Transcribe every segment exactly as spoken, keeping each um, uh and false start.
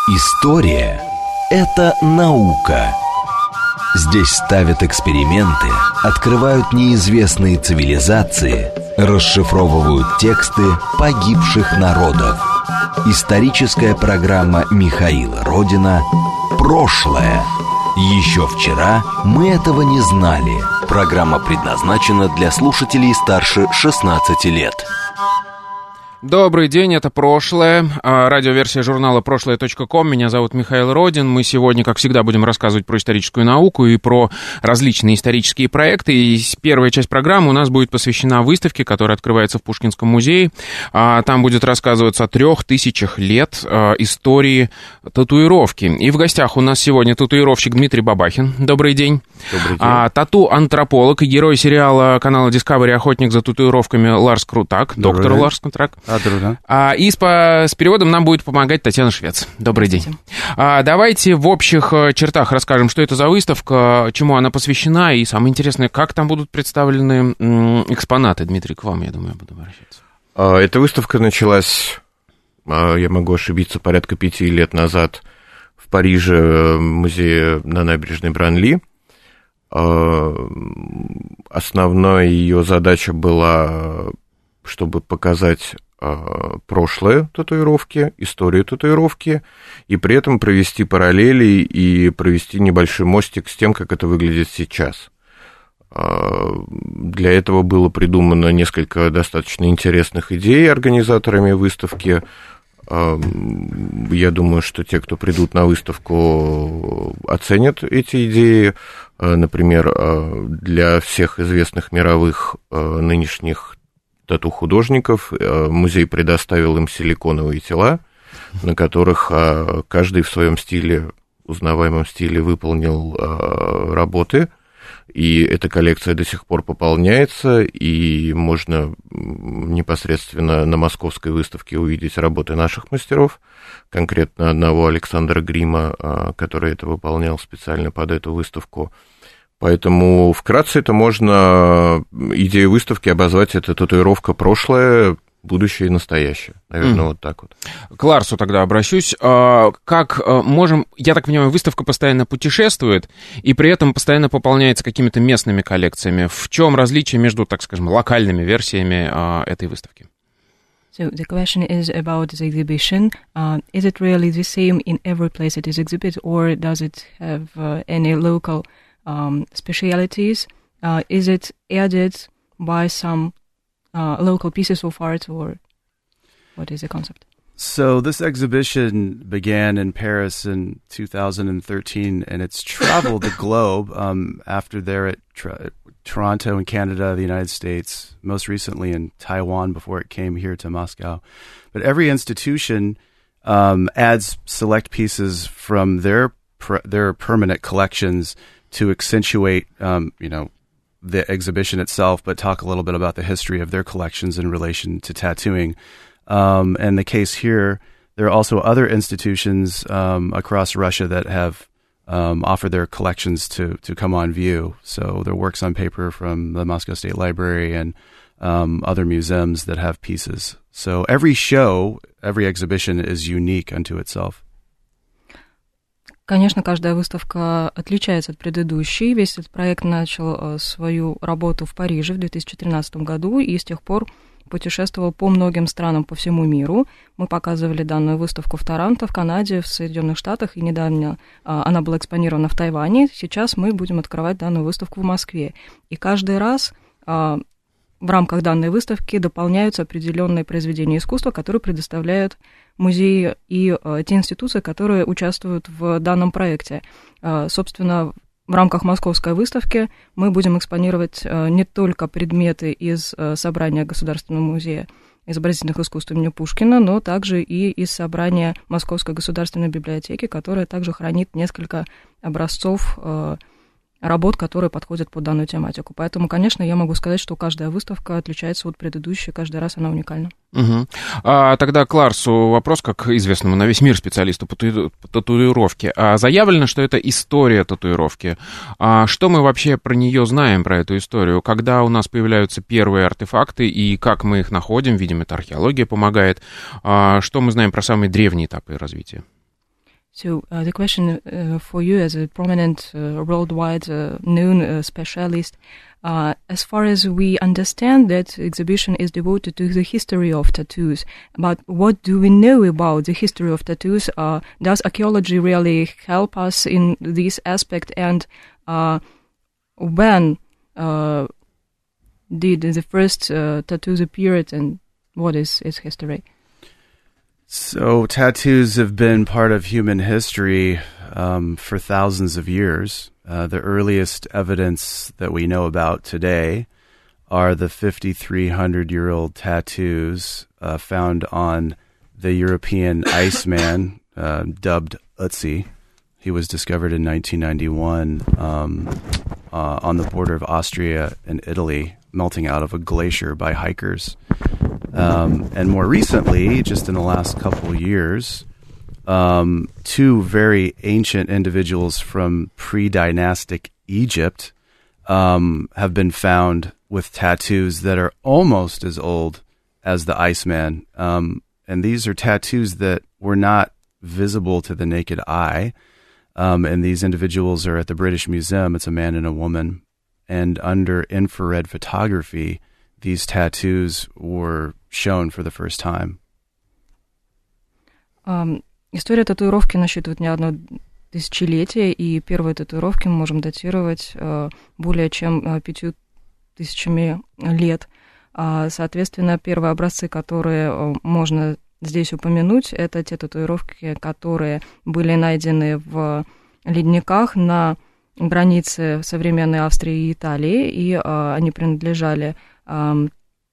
История – это наука. Здесь ставят эксперименты, открывают неизвестные цивилизации, расшифровывают тексты погибших народов. Историческая программа Михаила Родина «Прошлое». Еще вчера мы этого не знали. Программа предназначена для слушателей старше шестнадцати лет. Добрый день, это «Прошлое», радиоверсия журнала прошлое точка ком. Меня зовут Михаил Родин. Мы сегодня, как всегда, будем рассказывать про историческую науку и про различные исторические проекты. И первая часть программы у нас будет посвящена выставке, которая открывается в Пушкинском музее. Там будет рассказываться о трех тысячах лет истории татуировки. И в гостях у нас сегодня татуировщик Дмитрий Бабахин. Добрый день. Добрый день. А, тату-антрополог и герой сериала канала Discovery «Охотник за татуировками» Ларс Крутак. Добрый доктор день. Ларс Крутак. А, а, и с, по, с переводом нам будет помогать Татьяна Швец. Добрый день. А, давайте в общих чертах расскажем, что это за выставка, чему она посвящена, и самое интересное, как там будут представлены м, экспонаты. Дмитрий, к вам, я думаю, буду обращаться. Эта выставка началась, я могу ошибиться, порядка пяти лет назад в Париже, в музее на набережной Бранли. Основная ее задача была, чтобы показать прошлое татуировки, историю татуировки, и при этом провести параллели и провести небольшой мостик с тем, как это выглядит сейчас. Для этого было придумано несколько достаточно интересных идей организаторами выставки. Я думаю, что те, кто придут на выставку, оценят эти идеи. Например, для всех известных мировых нынешних тату-художников музей предоставил им силиконовые тела, на которых каждый в своем стиле, узнаваемом стиле, выполнил работы. И эта коллекция до сих пор пополняется, и можно непосредственно на московской выставке увидеть работы наших мастеров, конкретно одного Александра Грима, который это выполнял специально под эту выставку. Поэтому вкратце это можно, идею выставки обозвать, это татуировка прошлое, будущее и настоящее. Наверное, mm. вот так вот. К Ларсу тогда обращусь. Как можем... Я так понимаю, выставка постоянно путешествует и при этом постоянно пополняется какими-то местными коллекциями. В чем различие между, так скажем, локальными версиями этой выставки? So the question is about the exhibition. Uh, is it really the same in every place it is exhibited, or does it have uh, any local um, specialities? Uh, is it added by some Uh, local pieces of art, or what is the concept? So this exhibition began in Paris in two thousand thirteen, and it's traveled the globe um, after there at tra- Toronto in Canada, the United States, most recently in Taiwan before it came here to Moscow. But every institution um, adds select pieces from their pr- their permanent collections to accentuate, um, you know, the exhibition itself, but talk a little bit about the history of their collections in relation to tattooing. Um, and the case here, there are also other institutions um, across Russia that have um, offered their collections to, to come on view. So there are works on paper from the Moscow State Library and um, other museums that have pieces. So every show, every exhibition is unique unto itself. Конечно, каждая выставка отличается от предыдущей. Весь этот проект начал свою работу в Париже в две тысячи тринадцатом году и с тех пор путешествовал по многим странам по всему миру. Мы показывали данную выставку в Торонто, в Канаде, в Соединенных Штатах, и недавно она была экспонирована в Тайване. Сейчас мы будем открывать данную выставку в Москве. И каждый раз в рамках данной выставки дополняются определенные произведения искусства, которые предоставляют музеи и э, те институции, которые участвуют в данном проекте. Э, собственно, в рамках московской выставки мы будем экспонировать э, не только предметы из э, собрания Государственного музея изобразительных искусств имени Пушкина, но также и из собрания Московской государственной библиотеки, которая также хранит несколько образцов э, работ, которые подходят под данную тематику. Поэтому, конечно, я могу сказать, что каждая выставка отличается от предыдущей, каждый раз она уникальна. Угу. А тогда к Ларсу вопрос, как известному на весь мир специалисту по татуировке. А заявлено, что это история татуировки. А что мы вообще про нее знаем, про эту историю? Когда у нас появляются первые артефакты и как мы их находим? Видим, это археология помогает. А что мы знаем про самые древние этапы развития? So uh, the question uh, for you as a prominent, uh, worldwide uh, known uh, specialist, uh, as far as we understand that exhibition is devoted to the history of tattoos, but what do we know about the history of tattoos? Uh, does archaeology really help us in this aspect? And uh, when uh, did the first uh, tattoos appear, and what is its history? So tattoos have been part of human history um, for thousands of years. Uh, the earliest evidence that we know about today are the fifty-three hundred year old tattoos uh, found on the European Iceman, uh, dubbed Ötzi. He was discovered in nineteen ninety-one um, uh, on the border of Austria and Italy, melting out of a glacier by hikers. Um, and more recently, just in the last couple of years, um, two very ancient individuals from pre-dynastic Egypt um, have been found with tattoos that are almost as old as the Iceman. Um, and these are tattoos that were not visible to the naked eye. Um, and these individuals are at the British Museum. It's a man and a woman. And under infrared photography, these tattoos were shown for the first time. Um, история татуировки насчитывает не одно тысячелетие, и первые татуировки мы можем датировать uh, более чем uh, пятью тысячами лет. Uh, соответственно, первые образцы, которые uh, можно здесь упомянуть, это те татуировки, которые были найдены в ледниках на границе современной Австрии и Италии, и uh, они принадлежали uh,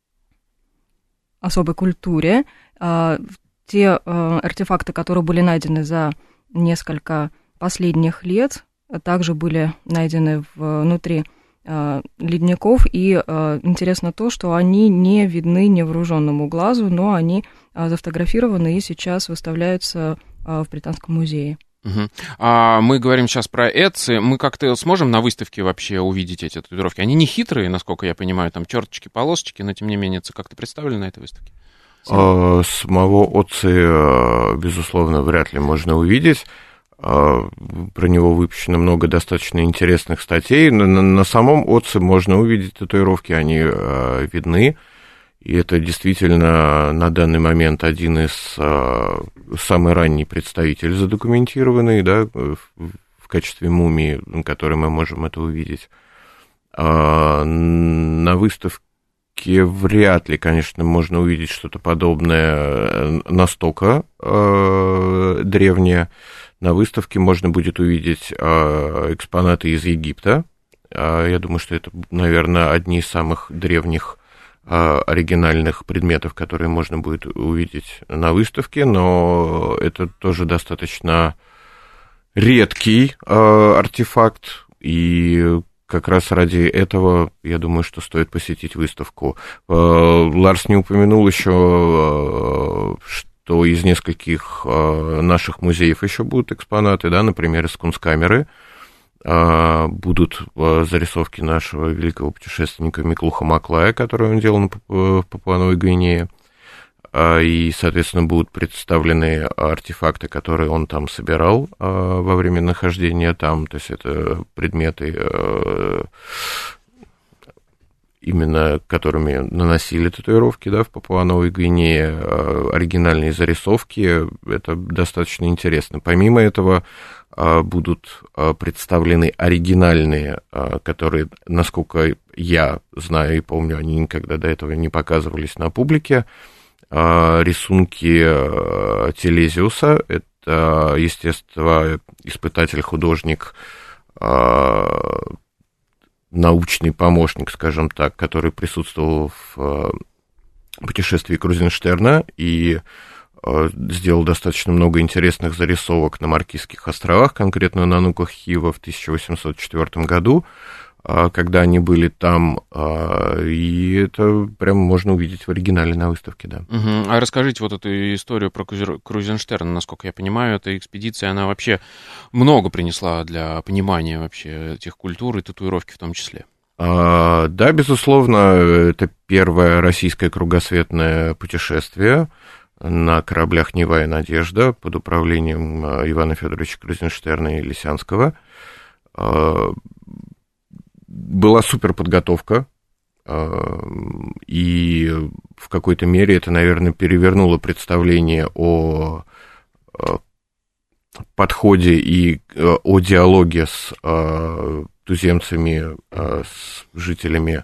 особой культуре. Uh, те uh, артефакты, которые были найдены за несколько последних лет, также были найдены внутри uh, ледников, и uh, интересно то, что они не видны невооруженному глазу, но они uh, зафотографированы и сейчас выставляются uh, в Британском музее. Угу. А мы говорим сейчас про Ötzi. Мы как-то сможем на выставке вообще увидеть эти татуировки? Они не хитрые, насколько я понимаю, там черточки, полосочки, но тем не менее это как-то представлено на этой выставке? А, самого Ötzi, безусловно, вряд ли можно увидеть. А, про него выпущено много достаточно интересных статей. На, на самом Ötzi можно увидеть татуировки, они а, видны. И это действительно на данный момент один из а, самый ранний представитель задокументированный, да, в, в качестве мумии, на которой мы можем это увидеть. А, на выставке вряд ли, конечно, можно увидеть что-то подобное настолько а, древнее. На выставке можно будет увидеть а, экспонаты из Египта. А, я думаю, что это, наверное, одни из самых древних оригинальных предметов, которые можно будет увидеть на выставке, но это тоже достаточно редкий э, артефакт, и как раз ради этого, я думаю, что стоит посетить выставку. Э, Ларс не упомянул еще, э, что из нескольких э, наших музеев еще будут экспонаты, да, например, из Кунсткамеры. Будут зарисовки нашего великого путешественника Миклуха Маклая, которые он делал в Папуа-Новой Гвинее, и, соответственно, будут представлены артефакты, которые он там собирал во время нахождения там, то есть это предметы, именно которыми наносили татуировки, да, в Папуа-Новой Гвинее, оригинальные зарисовки, это достаточно интересно. Помимо этого, будут представлены оригинальные, которые, насколько я знаю и помню, они никогда до этого не показывались на публике, рисунки Телезиуса, это естествоиспытатель, художник, научный помощник, скажем так, который присутствовал в путешествии Крузенштерна и сделал достаточно много интересных зарисовок на Маркизских островах, конкретно на Нуках Хива в тысяча восемьсот четвёртом году, когда они были там, и это прям можно увидеть в оригинале на выставке, да. Угу. А расскажите вот эту историю про Крузенштерна, насколько я понимаю, эта экспедиция, она вообще много принесла для понимания вообще этих культур и татуировки в том числе. А, да, безусловно, это первое российское кругосветное путешествие. на кораблях «Нева» и «Надежда» под управлением Ивана Федоровича Крузенштерна и Лисянского. Была суперподготовка, и в какой-то мере это, наверное, перевернуло представление о подходе и о диалоге с туземцами, с жителями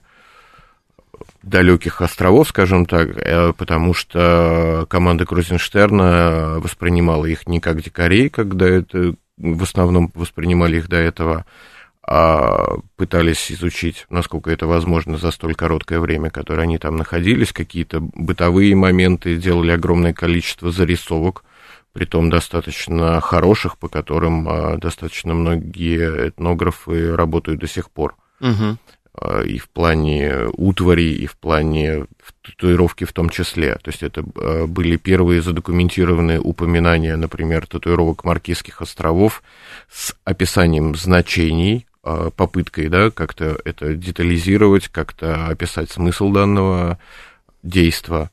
далеких островов, скажем так, потому что команда Крузенштерна воспринимала их не как дикарей, когда это в основном воспринимали их до этого, а пытались изучить, насколько это возможно за столь короткое время, которое они там находились, какие-то бытовые моменты, делали огромное количество зарисовок, притом достаточно хороших, по которым достаточно многие этнографы работают до сих пор. Угу. И в плане утвари, и в плане татуировки в том числе. То есть это были первые задокументированные упоминания, например, татуировок Маркизских островов с описанием значений, попыткой, да, как-то это детализировать, как-то описать смысл данного действа.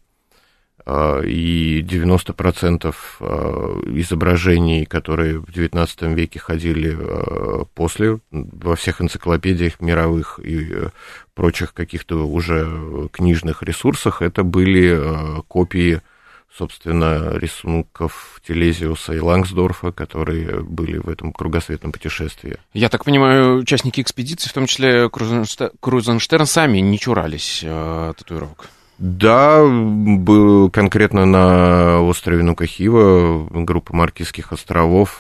И девяносто процентов изображений, которые в девятнадцатом веке ходили после, во всех энциклопедиях мировых и прочих каких-то уже книжных ресурсах, это были копии, собственно, рисунков Телезиуса и Лангсдорфа, которые были в этом кругосветном путешествии. Я так понимаю, участники экспедиции, в том числе Крузенштерн, сами не чурались э, татуировок? Да, был конкретно на острове Нукахива, группа Маркизских островов,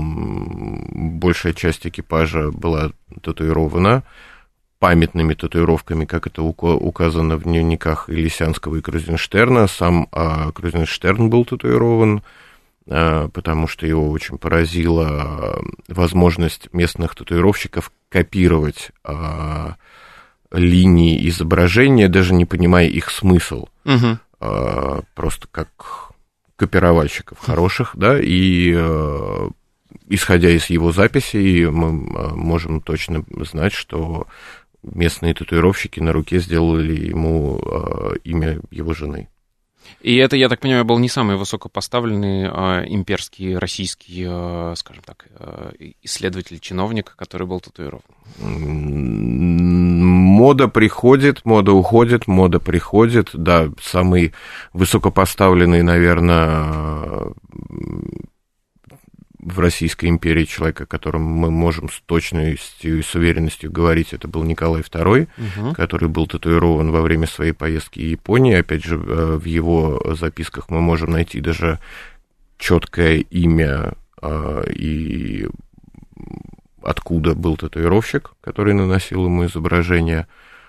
большая часть экипажа была татуирована памятными татуировками, как это указано в дневниках и Лисянского, и Крузенштерна. Сам а, Крузенштерн был татуирован, а, потому что его очень поразила возможность местных татуировщиков копировать а, линии изображения, даже не понимая их смысл, угу. а, просто как копировальщиков хороших, да, и а, исходя из его записей, мы можем точно знать, что местные татуировщики на руке сделали ему а, имя его жены. И это, я так понимаю, был не самый высокопоставленный а, имперский, российский, а, скажем так, а, исследователь-чиновник, который был татуирован. Мода приходит, мода уходит, мода приходит. Да, самый высокопоставленный, наверное, в Российской империи человек, о котором мы можем с точностью и с уверенностью говорить, это был Николай второй, угу. который был татуирован во время своей поездки в Японию. Опять же, в его записках мы можем найти даже четкое имя и откуда был татуировщик, который наносил ему изображение,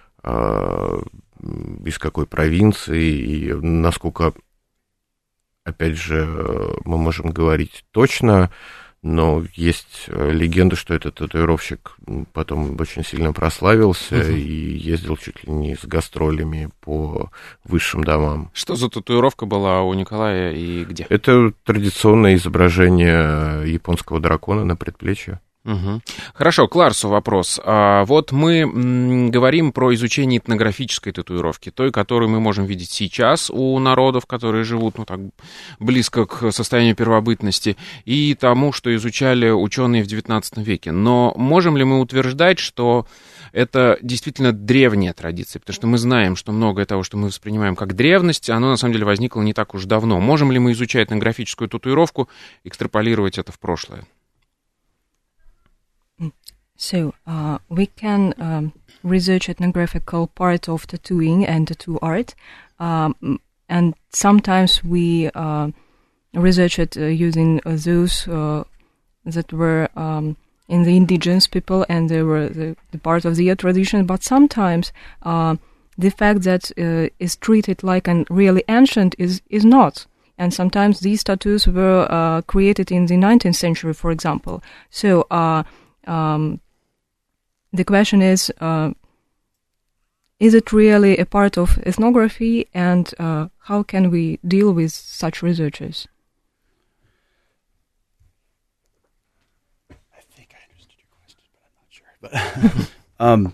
из какой провинции и насколько... Опять же, мы можем говорить точно, но есть легенда, что этот татуировщик потом очень сильно прославился uh-huh. и ездил чуть ли не с гастролями по высшим домам. Что за татуировка была у Николая и где? Это традиционное изображение японского дракона на предплечье. Угу. Хорошо, к Ларсу вопрос. А, вот мы м, говорим про изучение этнографической татуировки, той, которую мы можем видеть сейчас у народов, которые живут ну, так, близко к состоянию первобытности, и тому, что изучали ученые в девятнадцатом веке. Но можем ли мы утверждать, что это действительно древняя традиция? Потому что мы знаем, что многое того, что мы воспринимаем как древность, оно на самом деле возникло не так уж давно. Можем ли мы, изучая этнографическую татуировку, экстраполировать это в прошлое? So, uh, we can um, research ethnographical part of tattooing and tattoo art, um, and sometimes we uh, research it uh, using uh, those uh, that were um, in the indigenous people and they were the, the part of their tradition, but sometimes uh, the fact that uh, is treated like an really ancient is, is not. And sometimes these tattoos were uh, created in the nineteenth century, for example. So, uh, um, the question is, uh, is it really a part of ethnography, and uh, how can we deal with such researchers? I think I understood your question, but I'm not sure. But um,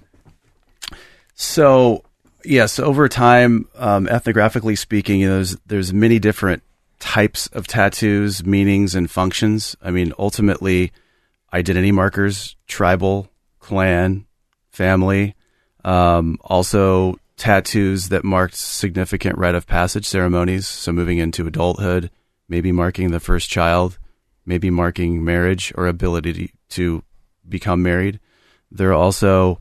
so, yes, over time, um, ethnographically speaking, you know, there's, there's many different types of tattoos, meanings, and functions. I mean, ultimately, identity markers, tribal, clan, family, um, also tattoos that marked significant rite of passage ceremonies, so moving into adulthood, maybe marking the first child, maybe marking marriage or ability to become married. There are also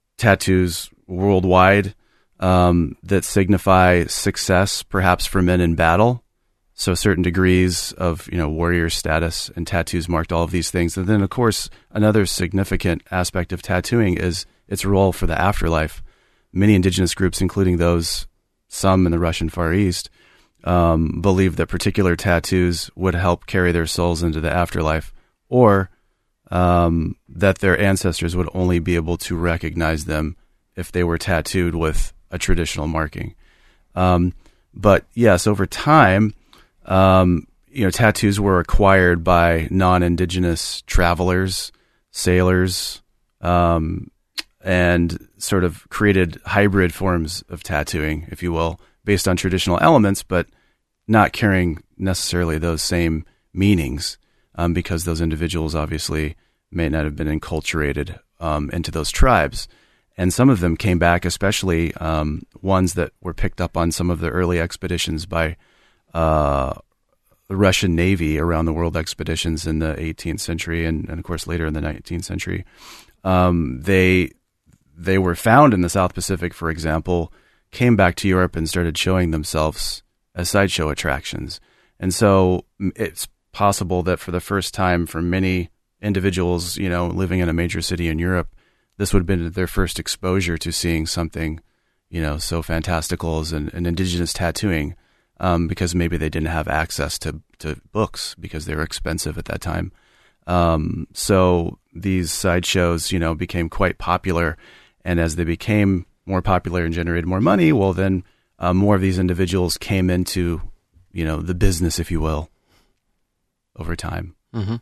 tattoos worldwide um, that signify success, perhaps for men in battle. So certain degrees of, you know, warrior status, and tattoos marked all of these things. And then, of course, another significant aspect of tattooing is its role for the afterlife. Many indigenous groups, including those, some in the Russian Far East, um, believe that particular tattoos would help carry their souls into the afterlife, or um, that their ancestors would only be able to recognize them if they were tattooed with a traditional marking. Um, but yes, over time, um, you know, tattoos were acquired by non-indigenous travelers, sailors, um, and sort of created hybrid forms of tattooing, if you will, based on traditional elements, but not carrying necessarily those same meanings, um, because those individuals obviously may not have been enculturated um, into those tribes. And some of them came back, especially um, ones that were picked up on some of the early expeditions by uh, the Russian Navy around the world expeditions in the eighteenth century and, and of course, later in the nineteenth century. Um, they they were found in the South Pacific, for example, came back to Europe and started showing themselves as sideshow attractions. And so it's possible that for the first time for many individuals, you know, living in a major city in Europe, this would have been their first exposure to seeing something, you know, so fantastical as an, an indigenous tattooing, um, because maybe they didn't have access to, to books because they were expensive at that time. Um, so these sideshows, you know, became quite popular. And as they became more popular and generated more money, well, then uh, more of these individuals came into, you know, the business, if you will, over time. Mm-hmm.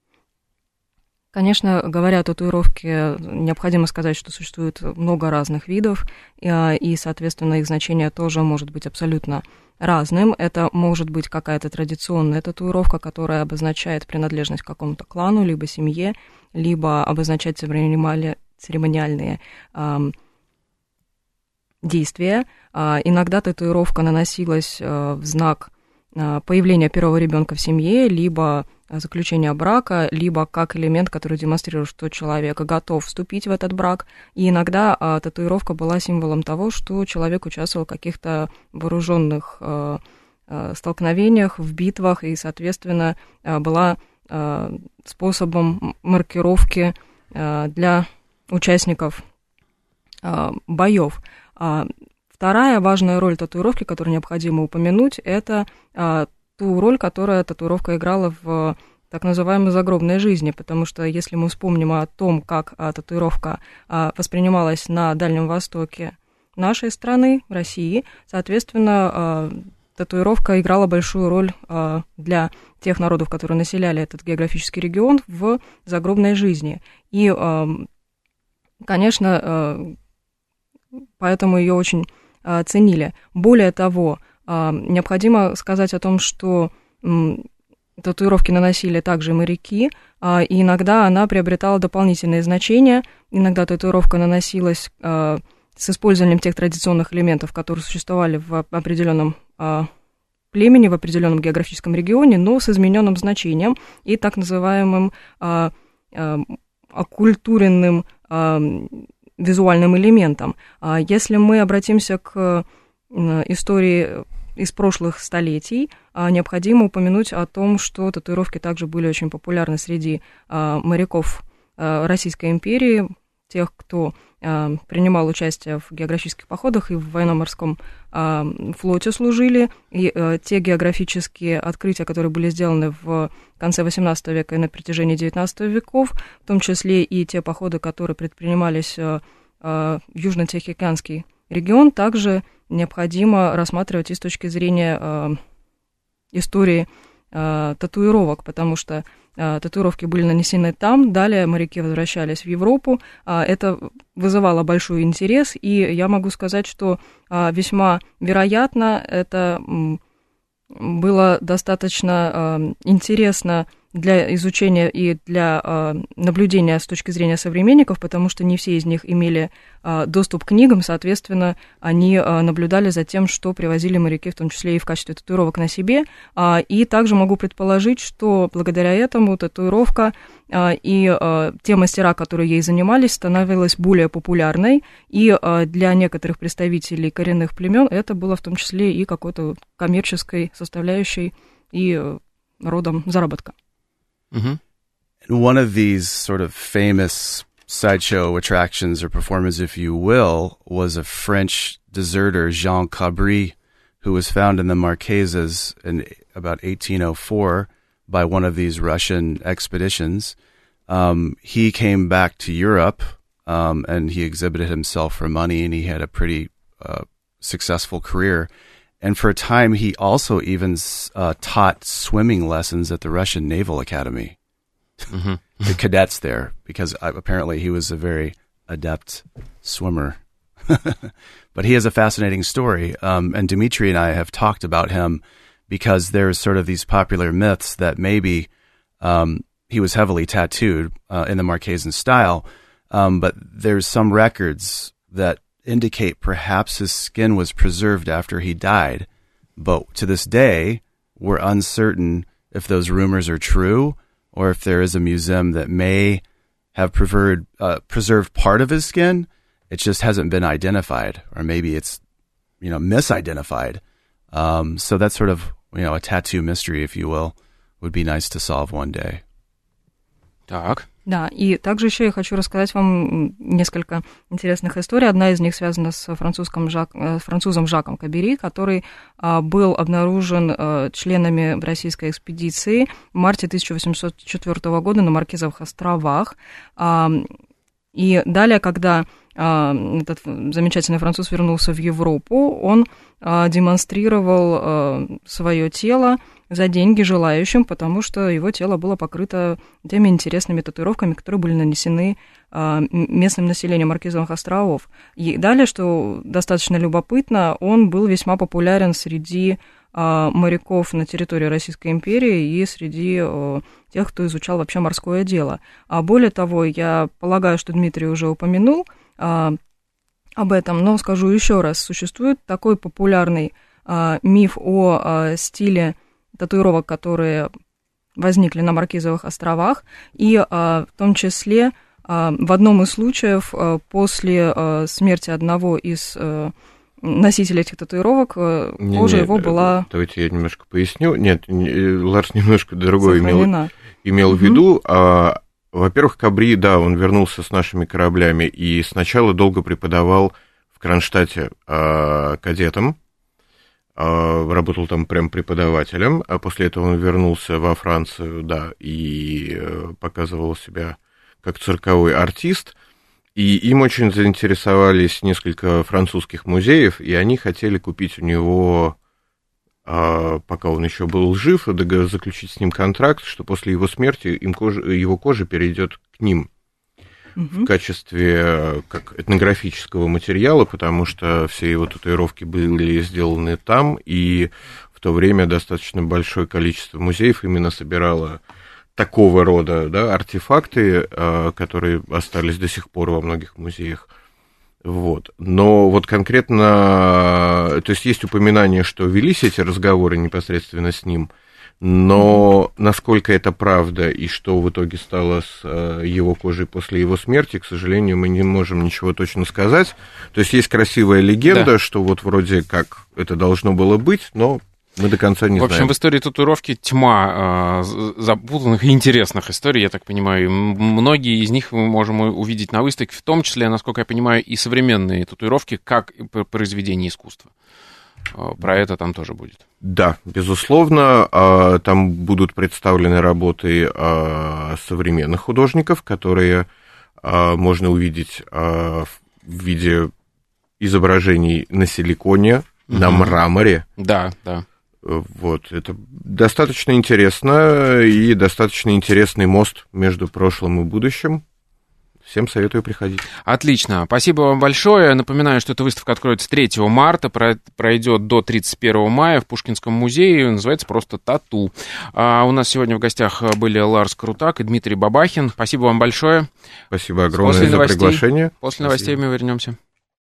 Конечно, говоря о татуировке, необходимо сказать, что существует много разных видов, и, соответственно, их значение тоже может быть абсолютно разным. Это может быть какая-то традиционная татуировка, которая обозначает принадлежность к какому-то клану, либо семье, либо обозначать церемониальные э, действия. Э, иногда татуировка наносилась э, в знак э, появления первого ребенка в семье, либо заключения брака, либо как элемент, который демонстрирует, что человек готов вступить в этот брак. И иногда а, татуировка была символом того, что человек участвовал в каких-то вооруженных а, а, столкновениях, в битвах, и, соответственно, а, была а, способом маркировки а, для участников а, боев. А, вторая важная роль татуировки, которую необходимо упомянуть, это а, ту роль, которую татуировка играла в так называемой загробной жизни, потому что если мы вспомним о том, как а, татуировка а, воспринималась на Дальнем Востоке нашей страны, России, соответственно, а, татуировка играла большую роль а, для тех народов, которые населяли этот географический регион, в загробной жизни. И, а, конечно, а, поэтому ее очень а, ценили. Более того, необходимо сказать о том, что татуировки наносили также моряки, и иногда она приобретала дополнительные значения. Иногда татуировка наносилась с использованием тех традиционных элементов, которые существовали в определенном племени, в определенном географическом регионе, но с измененным значением и так называемым оккультуренным визуальным элементом. Если мы обратимся к истории из прошлых столетий, необходимо упомянуть о том, что татуировки также были очень популярны среди моряков Российской империи, тех, кто принимал участие в географических походах и в военно-морском флоте служили. И те географические открытия, которые были сделаны в конце восемнадцатого века и на протяжении девятнадцатого веков, в том числе и те походы, которые предпринимались в Южно-Тихоокеанский регион, также необходимо рассматривать и с точки зрения э, истории э, татуировок, потому что э, татуировки были нанесены там, далее моряки возвращались в Европу. Э, это вызывало большой интерес, и я могу сказать, что э, весьма вероятно это э, было достаточно интересно для изучения и для э, наблюдения с точки зрения современников, потому что не все из них имели э, доступ к книгам, соответственно, они э, наблюдали за тем, что привозили моряки, в том числе и в качестве татуировок на себе. Э, и также могу предположить, что благодаря этому татуировка э, и э, те мастера, которые ей занимались, становилась более популярной, и э, для некоторых представителей коренных племен это было в том числе и какой-то коммерческой составляющей и э, родом заработка. Mm-hmm. And one of these sort of famous sideshow attractions or performers, if you will, was a French deserter, Jean Cabri, who was found in the Marquesas in about eighteen oh four by one of these Russian expeditions. Um, he came back to Europe, um, and he exhibited himself for money, and he had a pretty uh, successful career. And for a time, he also even uh, taught swimming lessons at the Russian Naval Academy, mm-hmm. the cadets there, because apparently he was a very adept swimmer. But he has a fascinating story, um, and Dmitry and I have talked about him because there's sort of these popular myths that maybe um, he was heavily tattooed uh, in the Marquesan style, um, but there's some records that indicate perhaps his skin was preserved after he died. But to this day, we're uncertain if those rumors are true or if there is a museum that may have preserved, uh, preserved part of his skin. It just hasn't been identified, or maybe it's, you know, misidentified. Um, so that's sort of, you know, a tattoo mystery, if you will, would be nice to solve one day. Так. Да, и также еще я хочу рассказать вам несколько интересных историй. Одна из них связана с французским Жак, французом Жаком Кабери, который а, был обнаружен а, членами российской экспедиции в марте тысяча восемьсот четвёртого года на Маркизовых островах. А, и далее, когда а, этот замечательный француз вернулся в Европу, он а, демонстрировал а, свое тело за деньги желающим, потому что его тело было покрыто теми интересными татуировками, которые были нанесены а, местным населением Маркизовых островов. И далее, что достаточно любопытно, он был весьма популярен среди а, моряков на территории Российской империи и среди а, тех, кто изучал вообще морское дело. А более того, я полагаю, что Дмитрий уже упомянул а, об этом, но скажу еще раз, существует такой популярный а, миф о а, стиле татуировок, которые возникли на Маркизовых островах, и а, в том числе а, в одном из случаев а, после а, смерти одного из а, носителей этих татуировок а, не, кожа не, его была... Давайте я немножко поясню. Нет, не, Ларс немножко другое имел, имел угу. в виду. А, во-первых, Кабри, да, он вернулся с нашими кораблями и сначала долго преподавал в Кронштадте а, кадетам, работал там прям преподавателем, а после этого он вернулся во Францию, да, и показывал себя как цирковой артист, и им очень заинтересовались несколько французских музеев, и они хотели купить у него, пока он еще был жив, заключить с ним контракт, что после его смерти им кожа, его кожа перейдет к ним в качестве как этнографического материала, потому что все его татуировки были сделаны там, и в то время достаточно большое количество музеев именно собирало такого рода, да, артефакты, которые остались до сих пор во многих музеях. Вот. Но вот конкретно, то есть есть упоминание, что велись эти разговоры непосредственно с ним, но насколько это правда и что в итоге стало с его кожей после его смерти, к сожалению, мы не можем ничего точно сказать. То есть есть красивая легенда, да, что вот вроде как это должно было быть, но мы до конца не знаем. В общем, знаем. В истории татуировки тьма э, запутанных и интересных историй, я так понимаю. Многие из них мы можем увидеть на выставке, в том числе, насколько я понимаю, и современные татуировки, как произведение искусства. Про это там тоже будет. Да, безусловно, там будут представлены работы современных художников, которые можно увидеть в виде изображений на силиконе, угу. на мраморе. Да, да. Вот, это достаточно интересно и достаточно интересный мост между прошлым и будущим. всем советую приходить. Отлично. Спасибо вам большое. Напоминаю, что эта выставка откроется третьего марта, пройдет до тридцать первого мая в Пушкинском музее. Называется просто «Тату». А у нас сегодня в гостях были Ларс Крутак и Дмитрий Бабахин. Спасибо вам большое. Спасибо огромное за приглашение. После новостей мы вернемся.